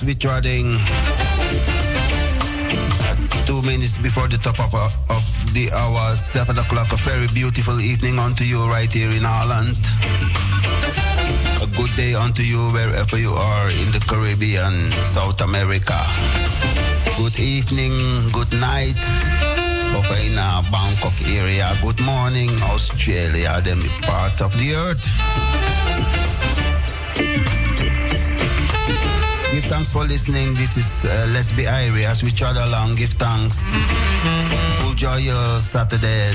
we're trotting 2 minutes before the top of the hour, 7 o'clock. A very beautiful evening unto you right here in Holland. A good day unto you wherever you are in the Caribbean, South America. Good evening, good night. Of in Bangkok area. Good morning, Australia, them part of the earth. Give thanks for listening. This is Let's Be Irie. As we trot along, give thanks. Full joy Saturday.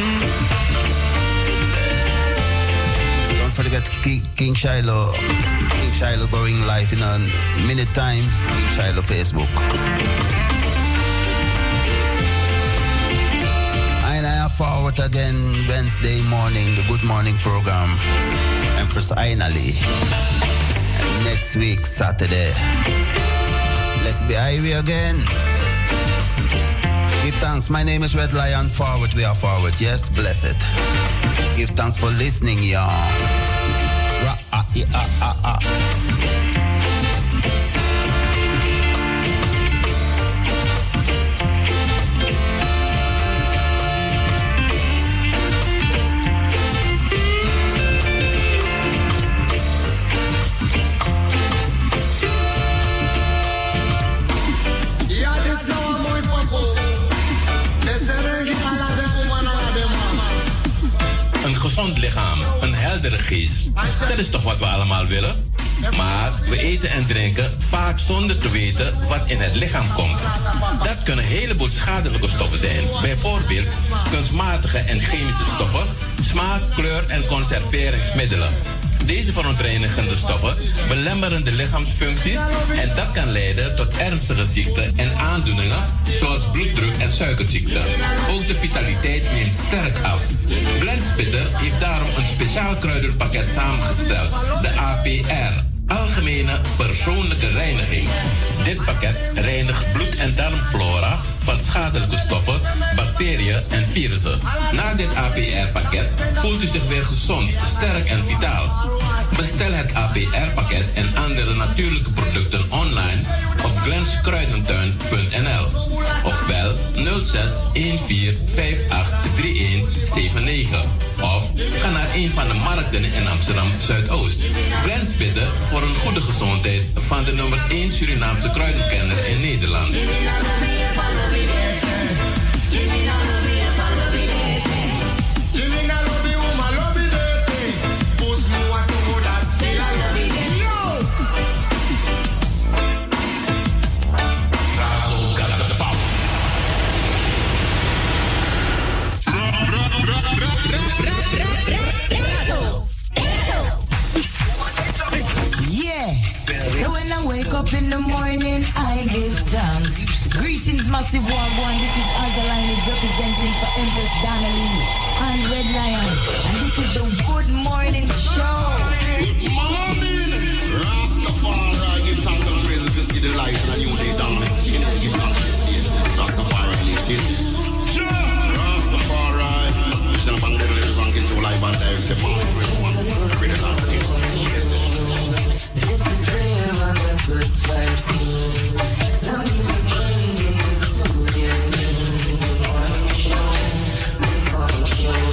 Don't forget King Shiloh. King Shiloh going live in a minute time. King Shiloh Facebook. Forward again Wednesday morning, the Good Morning program. Empress Ainali. And next week, Saturday. Let's be Irie again. Give thanks. My name is Red Lion. Forward, we are forward. Yes, blessed. Give thanks for listening, y'all. Een gezond lichaam, een heldere geest. Dat is toch wat we allemaal willen? Maar we eten en drinken vaak zonder te weten wat in het lichaam komt. Dat kunnen een heleboel schadelijke stoffen zijn. Bijvoorbeeld kunstmatige en chemische stoffen, smaak, kleur en conserveringsmiddelen. Deze verontreinigende stoffen belemmeren de lichaamsfuncties en dat kan leiden tot ernstige ziekten en aandoeningen zoals bloeddruk en suikerziekte. Ook de vitaliteit neemt sterk af. Blendspitter heeft daarom een speciaal kruidenpakket samengesteld, de APR. Algemene persoonlijke reiniging. Dit pakket reinigt bloed- en darmflora van schadelijke stoffen, bacteriën en virussen. Na dit APR-pakket voelt u zich weer gezond, sterk en vitaal. Bestel het APR-pakket en andere natuurlijke producten online op glenskruidentuin.nl of bel 06 14 58 3179 of ga naar een van de markten in Amsterdam Zuidoost. Blendspitter voor een goede gezondheid van de nummer 1 Surinaamse kruidenkenner in Nederland. So when I wake up in the morning, I give thanks. Greetings, massive one. This is Azaline is representing for Empress Donnelly and Red Lion. And this is the Good Morning Show. Good morning. Rastafari, give thanks and praise to see the light and a new day down. Give thanks to see it. Rastafari lives it. Rastafari. Vision of the ranking to live and direct. Say, man, everyone. Read it and see it. Yes, this is real and the good vibes move. Now you just bring it to yes. Good morning show. Good morning show.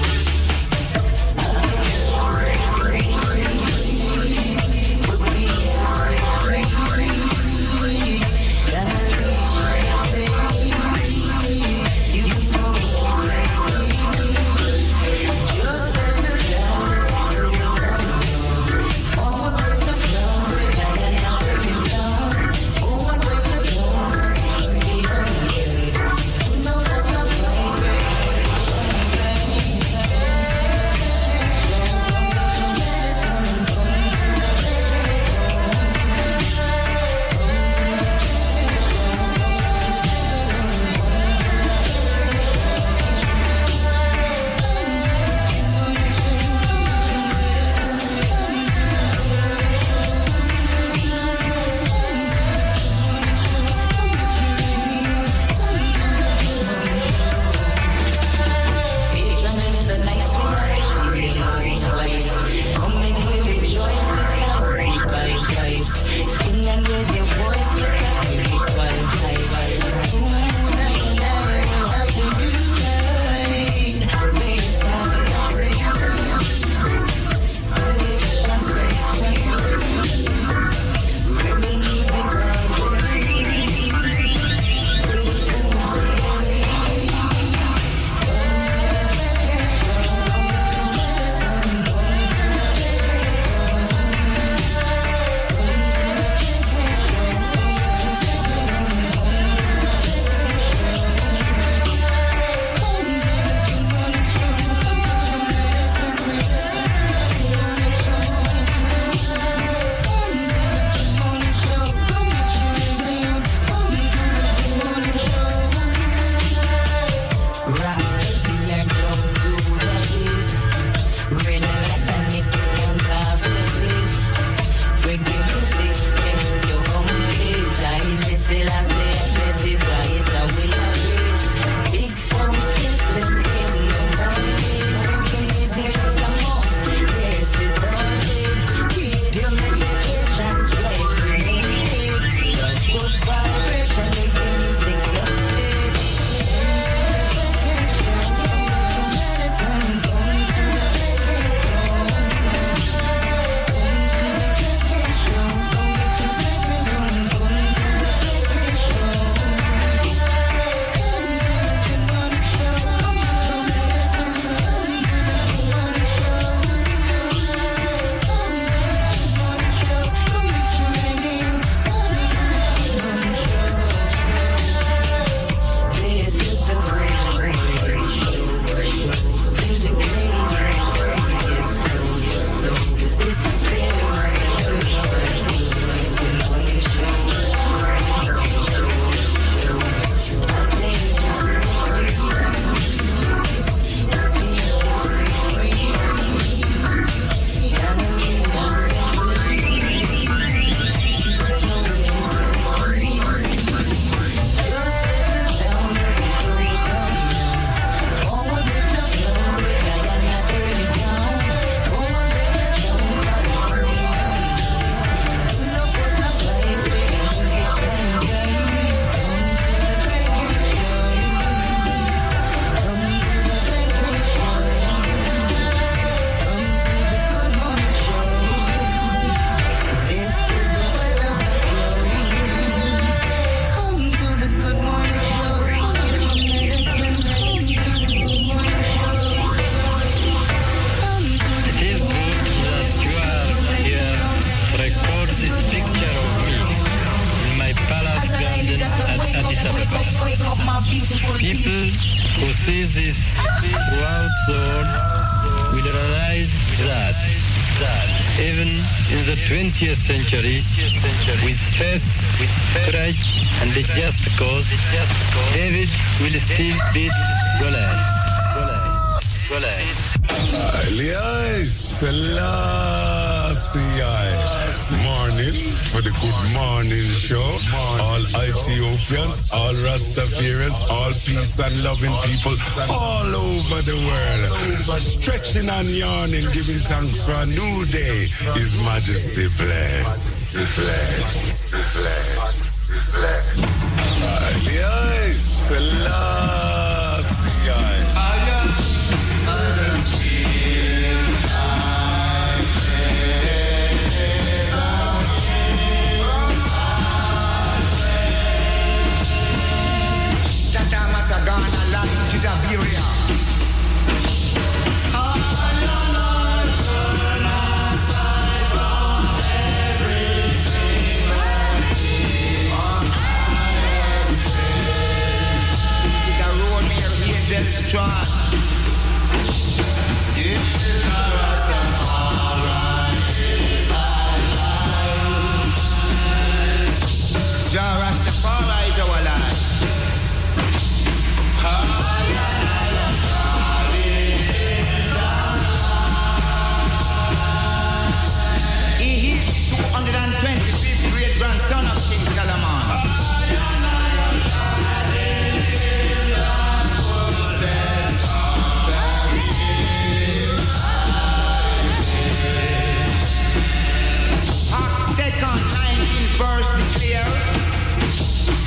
this picture of me in my palace garden at Addis Ababa. People who see this throughout the world will realize that even in the 20th century, with faith, courage, and a just cause, David will still beat Goliath. Morning for the Good Morning Show. All Ethiopians, all Rastafarians, all peace and loving people all over the world. Stretching and yawning, giving thanks for a new day. His Majesty bless. Rastafari is our life. He is 225th great grandson of King Solomon. Acts 2nd, 19th verse declare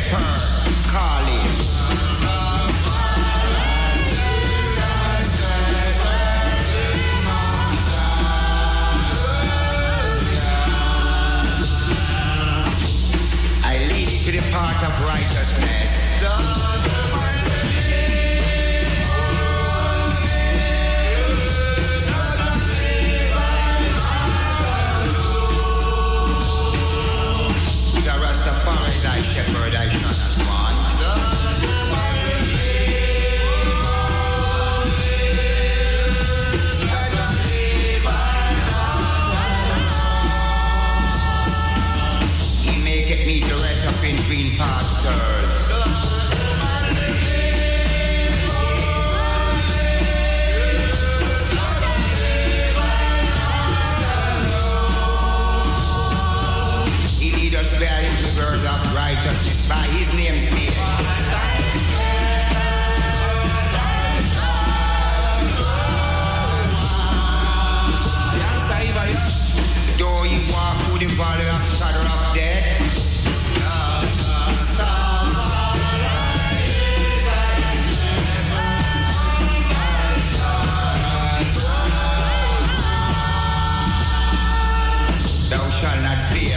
shepherd calling. I lead you to the path of righteousness. Thy shepherd, I shall not want. He maketh me to rest up in green pastures. Bear him the word of righteousness by his name's sake. Though he walk through the valley of shadow of death, thou shalt not fear.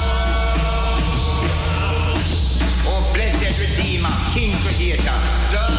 King Creator.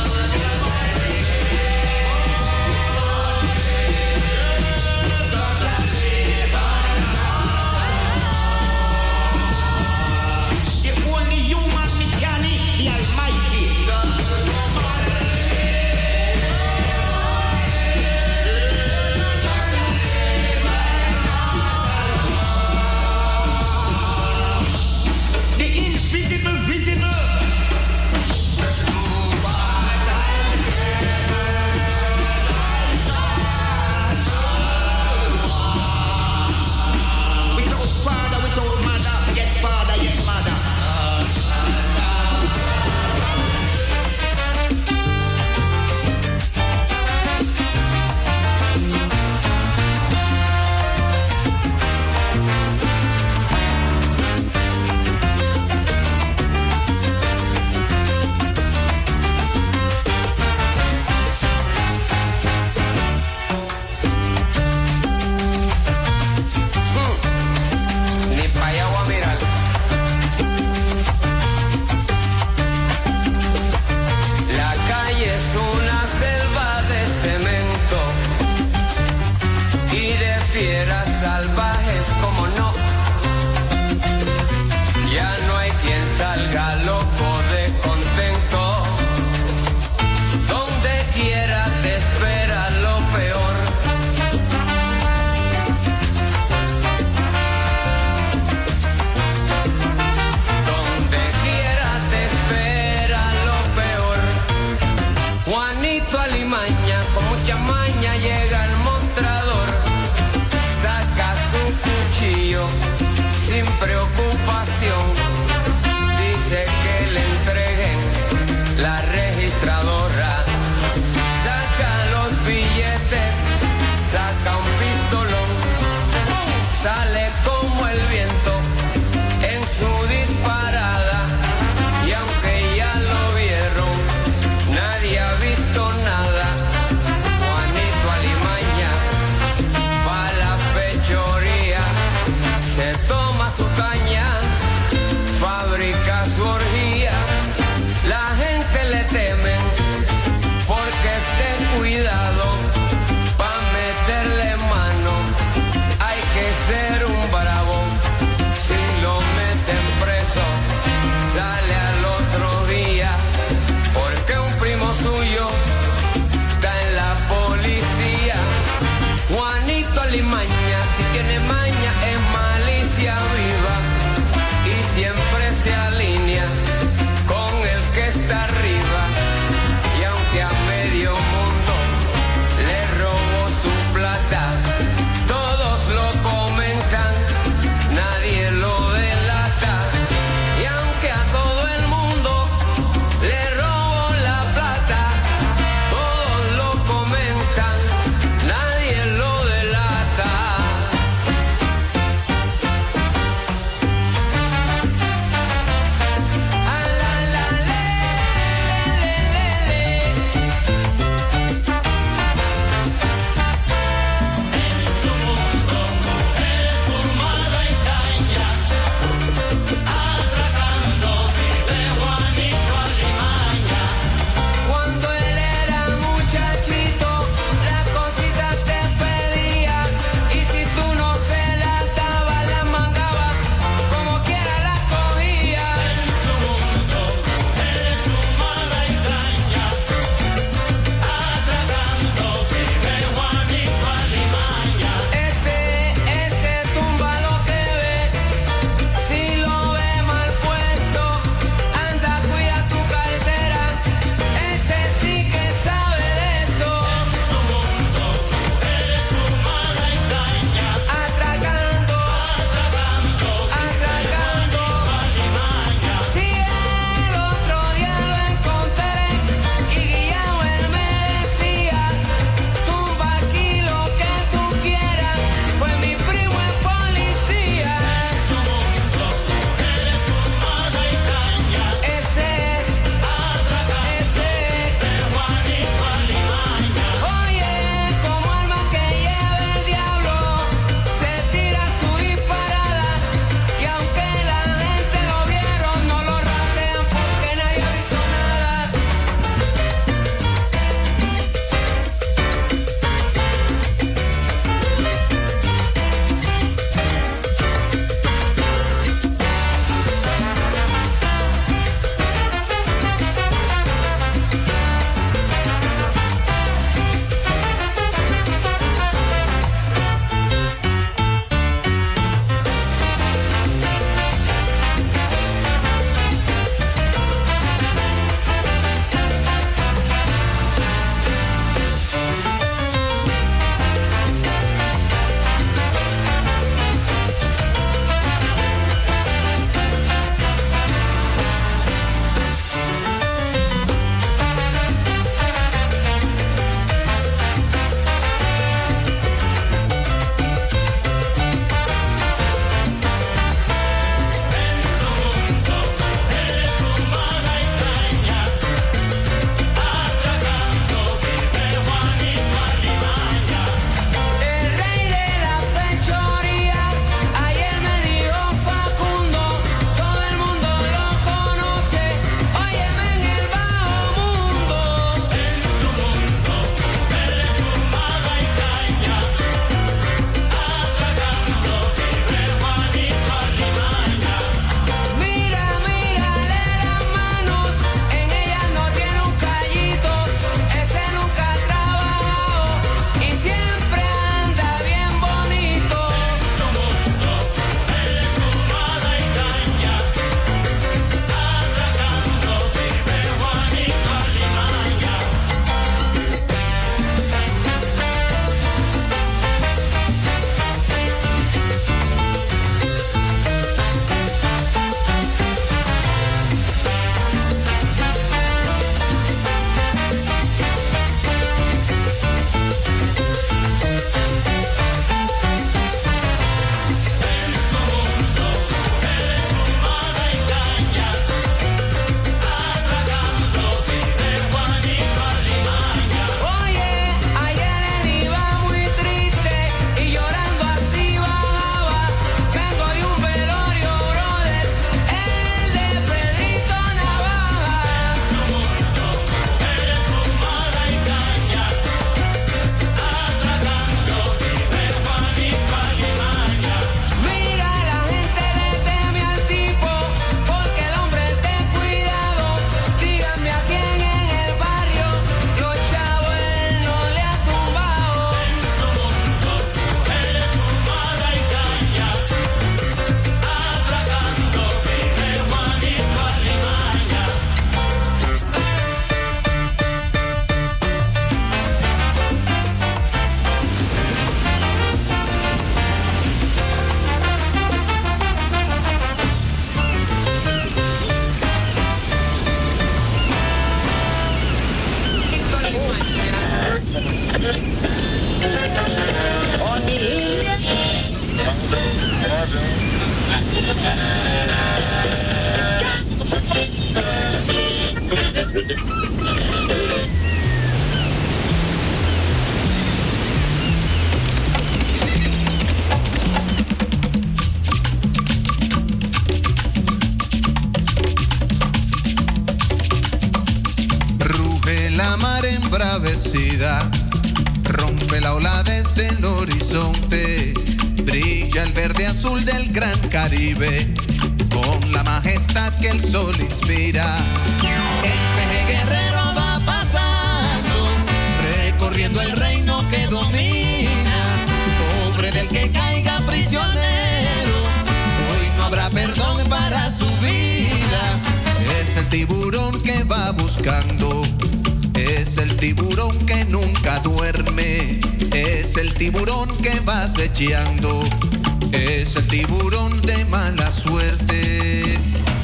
Ruge la mar embravecida, rompe la ola desde el horizonte, brilla el verde azul del gran Caribe, con la majestad que el sol inspira. El peje guerrero va pasando, recorriendo el reino que domina, pobre del que caiga prisionero, hoy no habrá perdón para su vida. Es el tiburón que va buscando, es el tiburón que nunca duerme, es el tiburón que va acechando, es el tiburón de mala suerte.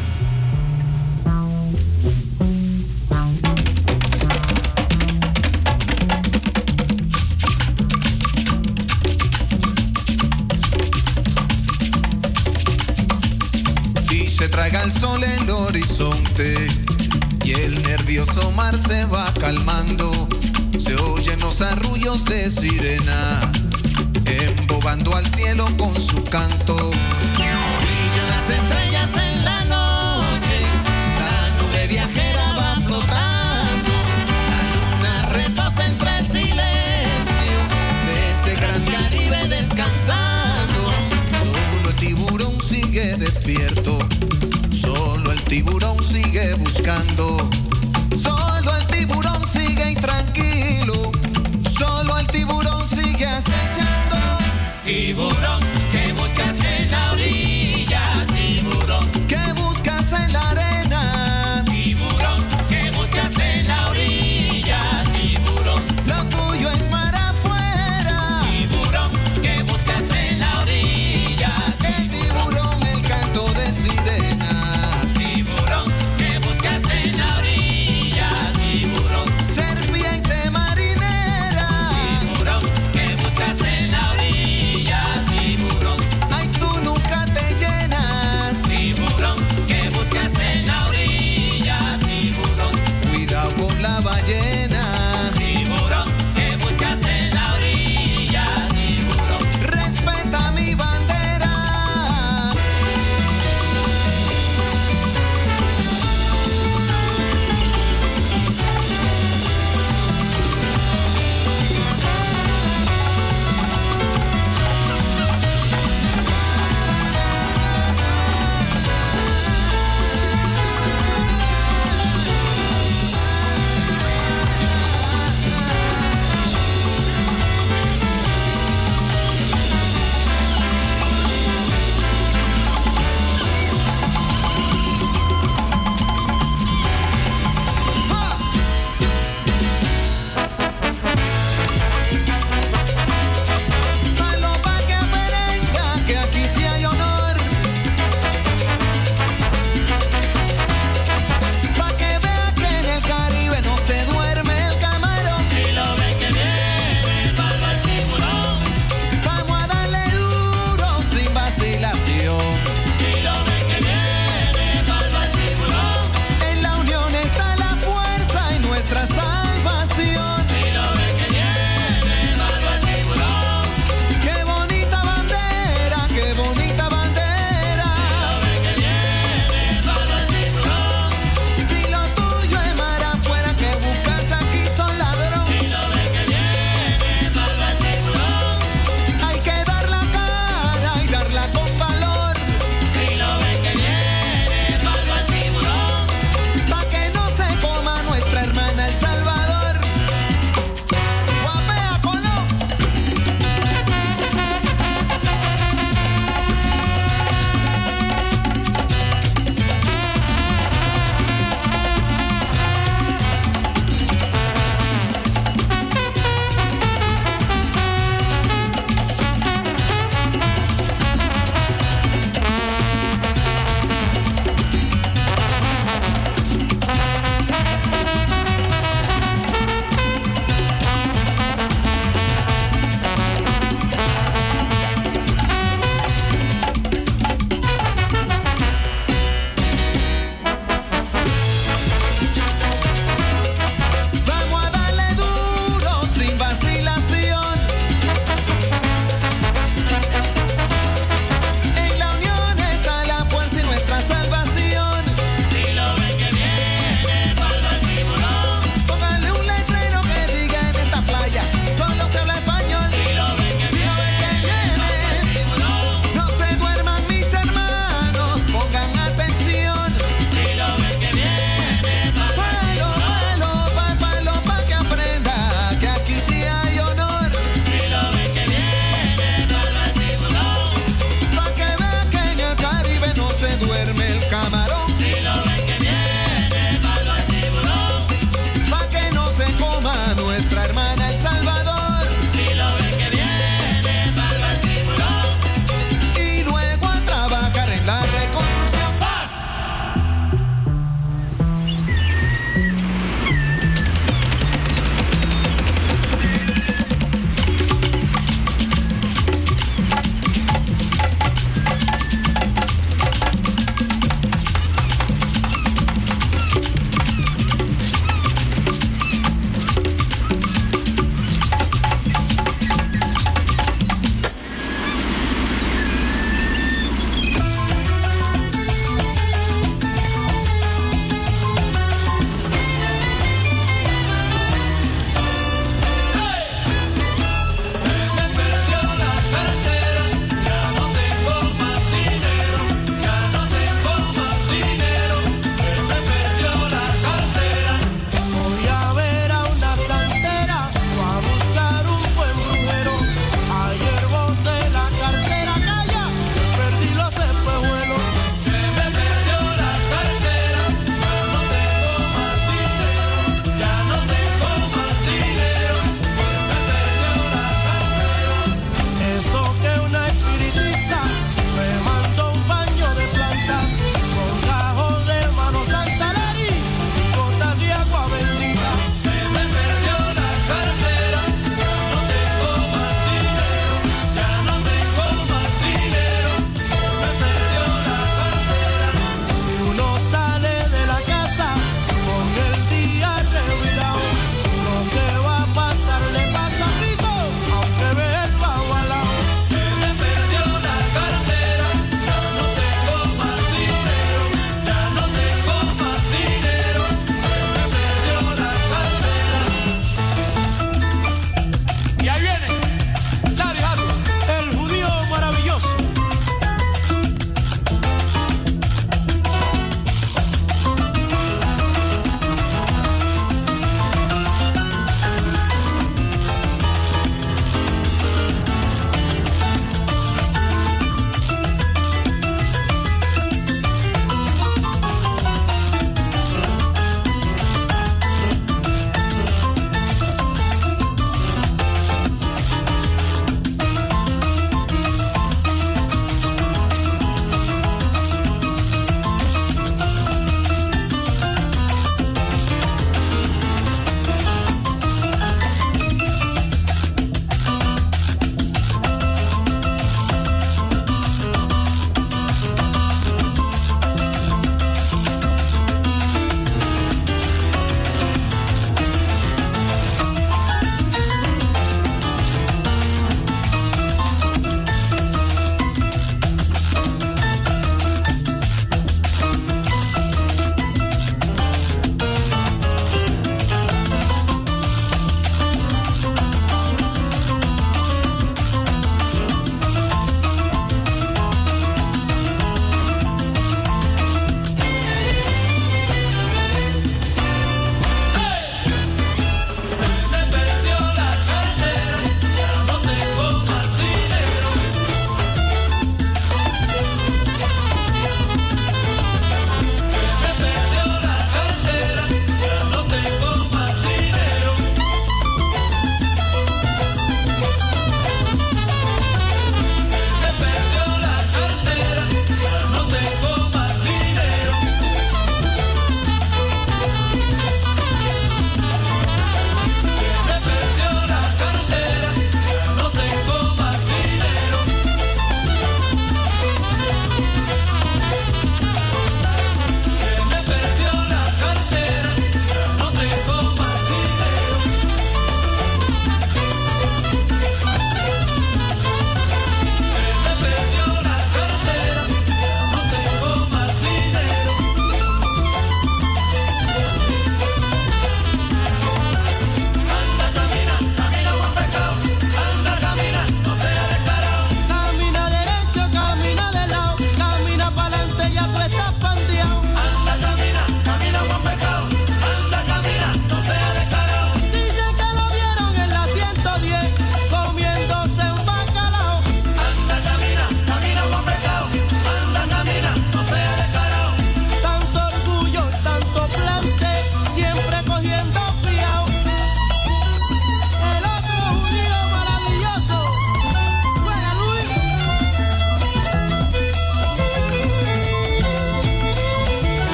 Y se traga el sol el horizonte, y el nervioso mar se va calmando, se oyen los arrullos de sirena, embobando al cielo con su canto. Brillan las estrellas en la noche, la nube viajera va flotando, la luna reposa entre el silencio de ese gran Caribe descansando. Solo el tiburón sigue despierto, solo el tiburón sigue buscando, solo el tiburón sigue intranquilo, solo el tiburón sigue acechando. Tiburón, ¿qué buscas en la orilla? Tiburón, ¿qué buscas en la arena? Tiburón, ¿qué buscas en la orilla? Tiburón, lo tuyo es mar afuera. Tiburón, ¿qué buscas en la orilla? El tiburón, el canto de sirena. Tiburón, ¿qué buscas en la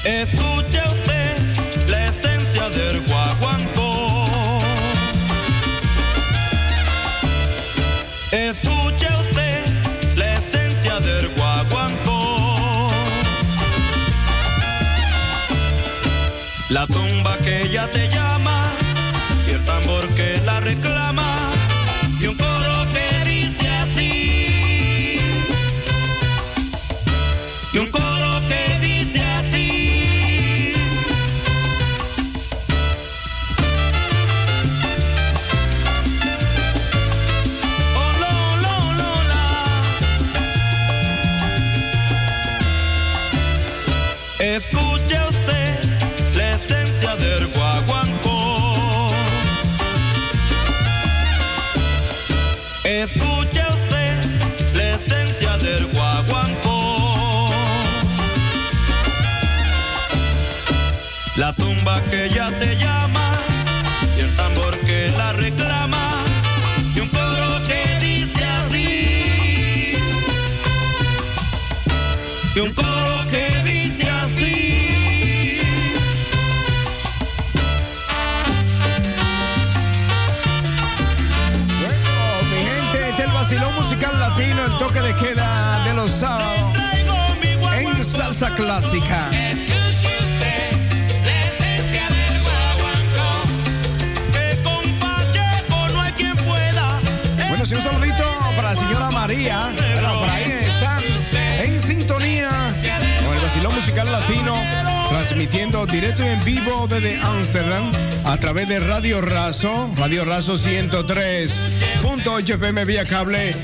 Escuche usted la esencia del guaguancó. Escuche usted la esencia del guaguancó. La tumba que ella te llama y el tambor que la reclama y un coro que dice así. Y un coro que dice así. Oh, lo, la. Escuche usted la esencia del guaguancó. Escuche usted la esencia del guaguancó. La tumba que ya te llama y el tambor que la reclama y un coro que dice así. Y un coro que dice así. Bueno, mi gente, este es el vacilón musical latino, el toque de queda de los sábados en salsa clásica. Bueno, sí, un saludito para la señora María. Bueno, por ahí están en sintonía con el vacilón musical latino, transmitiendo directo y en vivo desde Ámsterdam a través de Radio Razo 103.8 FM vía cable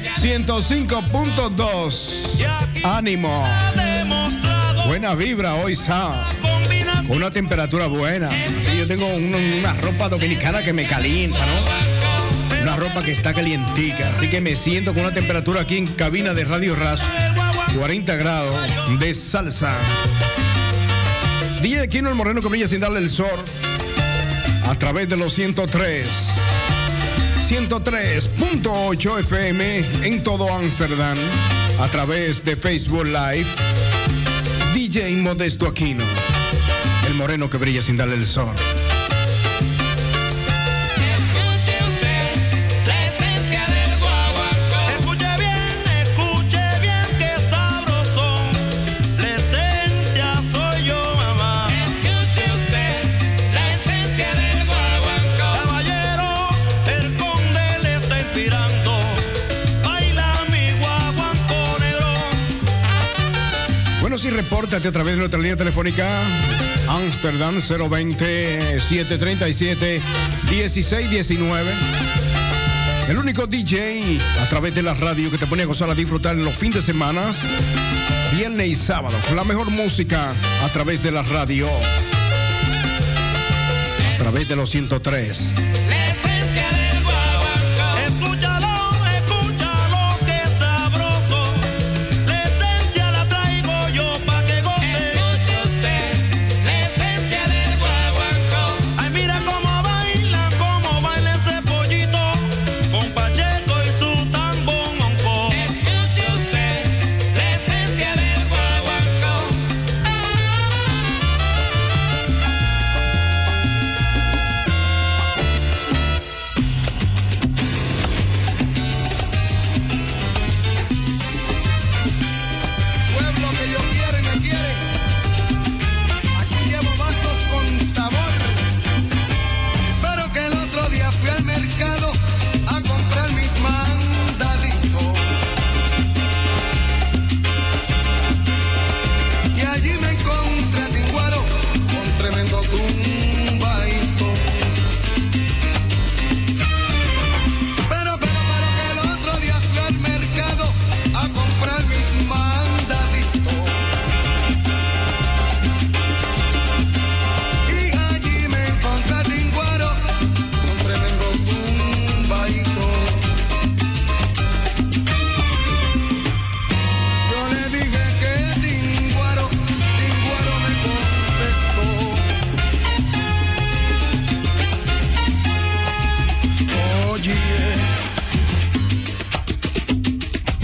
105.2. Ánimo. Buena vibra hoy sábado. Con una temperatura buena. Sí, yo tengo una ropa dominicana que me calienta, ¿no? Una ropa que está calientica, así que me siento con una temperatura aquí en cabina de Radio Razo, 40 grados de salsa. DJ Aquino, el moreno que brilla sin darle el sol, a través de los 103.8 FM en todo Ámsterdam, a través de Facebook Live. DJ Modesto Aquino, el moreno que brilla sin darle el sol. Y repórtate a través de nuestra línea telefónica Ámsterdam 020-737-1619. El único DJ a través de la radio que te pone a gozar, a disfrutar en los fines de semana, viernes y sábado, con la mejor música a través de la radio, a través de los 103.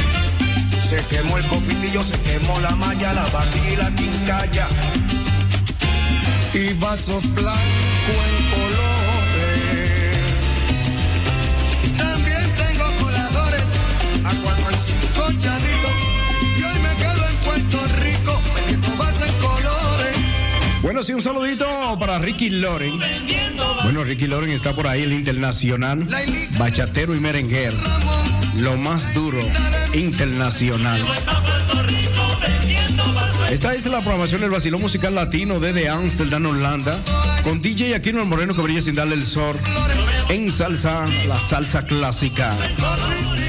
Se quemó el cofitillo, se quemó la malla, la vaquilla y la quincalla. y vasos blancos en colores. También tengo coladores, aguano en 5 chavitos. Y hoy me quedo en Puerto Rico, vendiendo vasos en colores. Bueno, sí, un saludito para Ricky Loren. Bueno, Ricky Loren está por ahí, el internacional, bachatero y merenguero. Lo más duro, internacional. Esta es la programación del vacilón musical latino desde Amsterdam, Holanda, con DJ Aquino el Moreno que brilla sin darle el sol en salsa, la salsa clásica.